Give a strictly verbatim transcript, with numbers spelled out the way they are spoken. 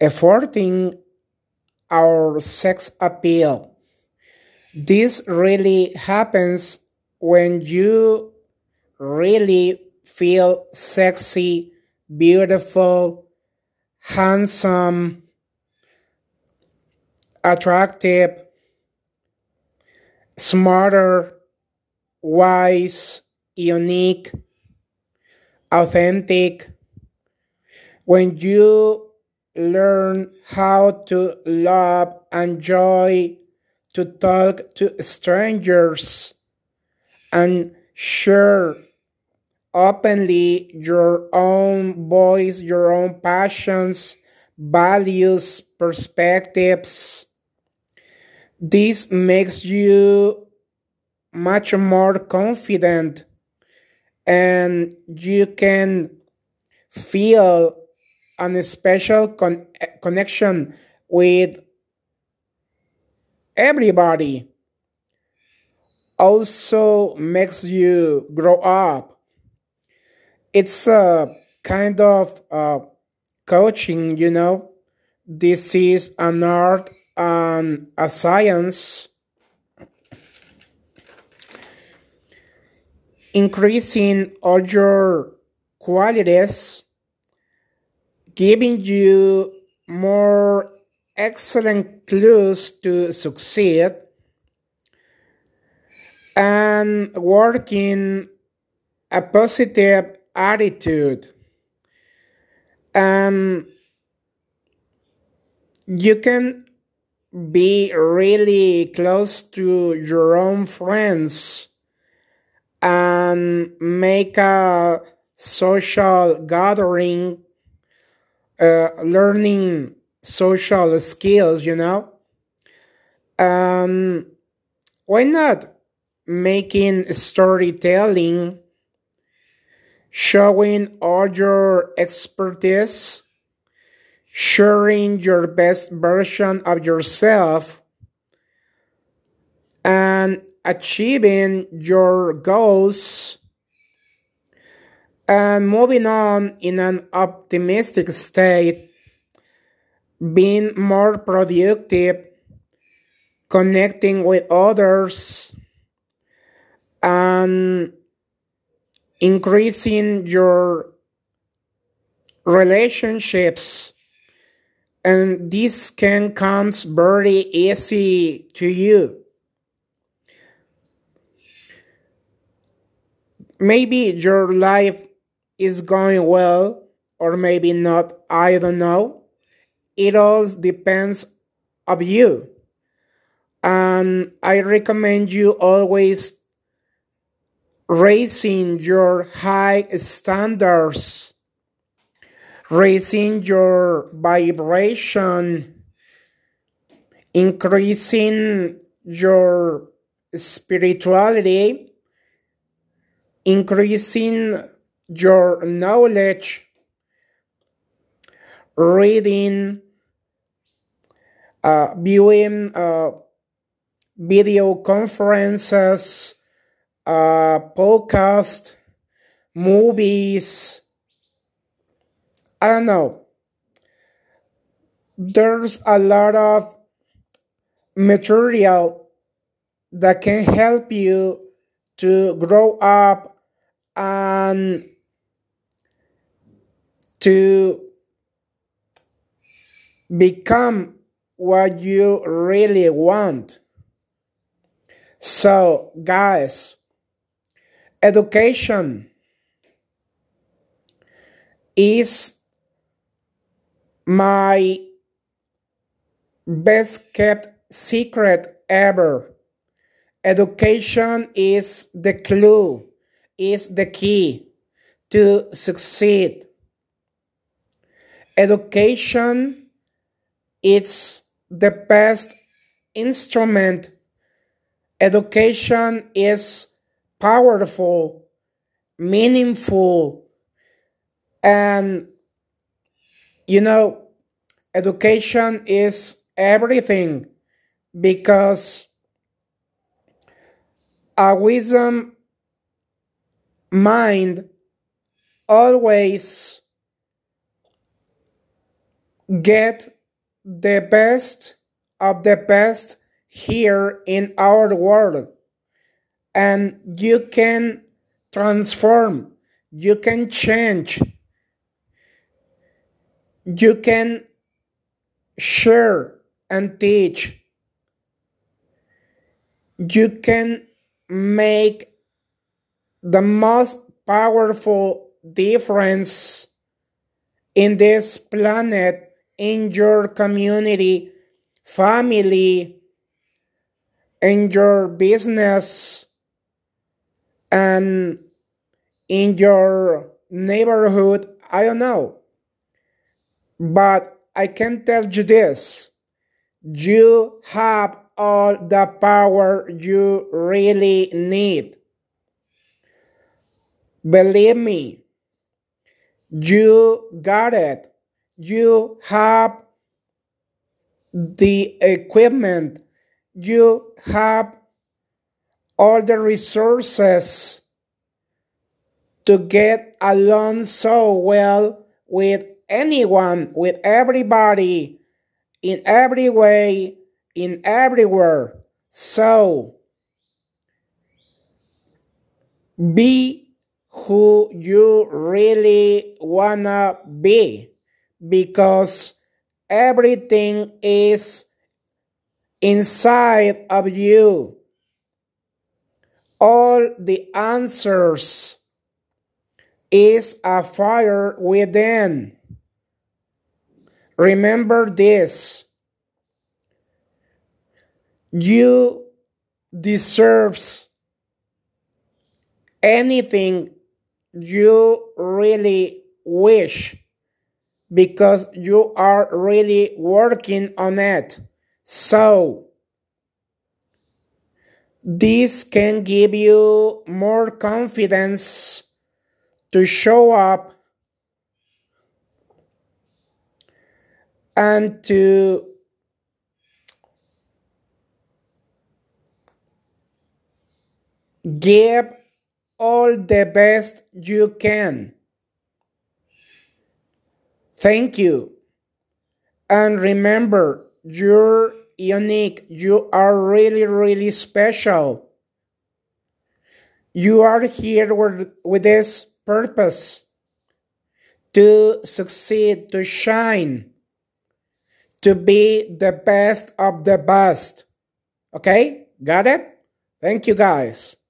efforting our sex appeal. This really happens when you really feel sexy, beautiful, handsome, attractive, smarter, wise, unique, authentic. When you learn how to love, enjoy, to talk to strangers, and share openly your own voice, your own passions, values, perspectives. This makes you much more confident and you can feel a special con- connection with everybody. Also makes you grow up. It's a kind of uh, coaching, you know. This is an art and a science, increasing all your qualities, giving you more excellent clues to succeed, and working a positive attitude. And you can be really close to your own friends and make a social gathering, uh, learning social skills, you know. Um, why not making storytelling, showing all your expertise, sharing your best version of yourself, and achieving your goals and moving on in an optimistic state, being more productive, connecting with others, and increasing your relationships. And this can come very easy to you. Maybe your life is going well, or maybe not. I don't know. It all depends of you. And I recommend you always raising your high standards, raising your vibration, increasing your spirituality, increasing your knowledge, reading, uh, viewing uh, video conferences, uh, podcast, movies. I don't know. There's a lot of material that can help you to grow up and to become what you really want. So, guys, education is my best kept secret ever. Education is the clue, is the key to succeed. Education is the best instrument. Education is powerful, meaningful, and you know, education is everything because a wisdom mind always get the best of the best here in our world, and you can transform, you can change, you can share and teach, you can make the most powerful difference in this planet, in your community, family, in your business, and in your neighborhood. I don't know. But I can tell you this: you have all the power you really need. Believe me, you got it. You have the equipment, you have all the resources to get along so well with anyone, with everybody, in every way, in everywhere. So, be who you really wanna be, because everything is inside of you. All the answers is a fire within. Remember this: you deserves anything you really wish, because you are really working on it. So, this can give you more confidence to show up and to give all the best you can. Thank you. And remember, you're unique. You are really, really special. You are here with, with this purpose: to succeed, to shine, to be the best of the best. Okay? Got it? Thank you, guys.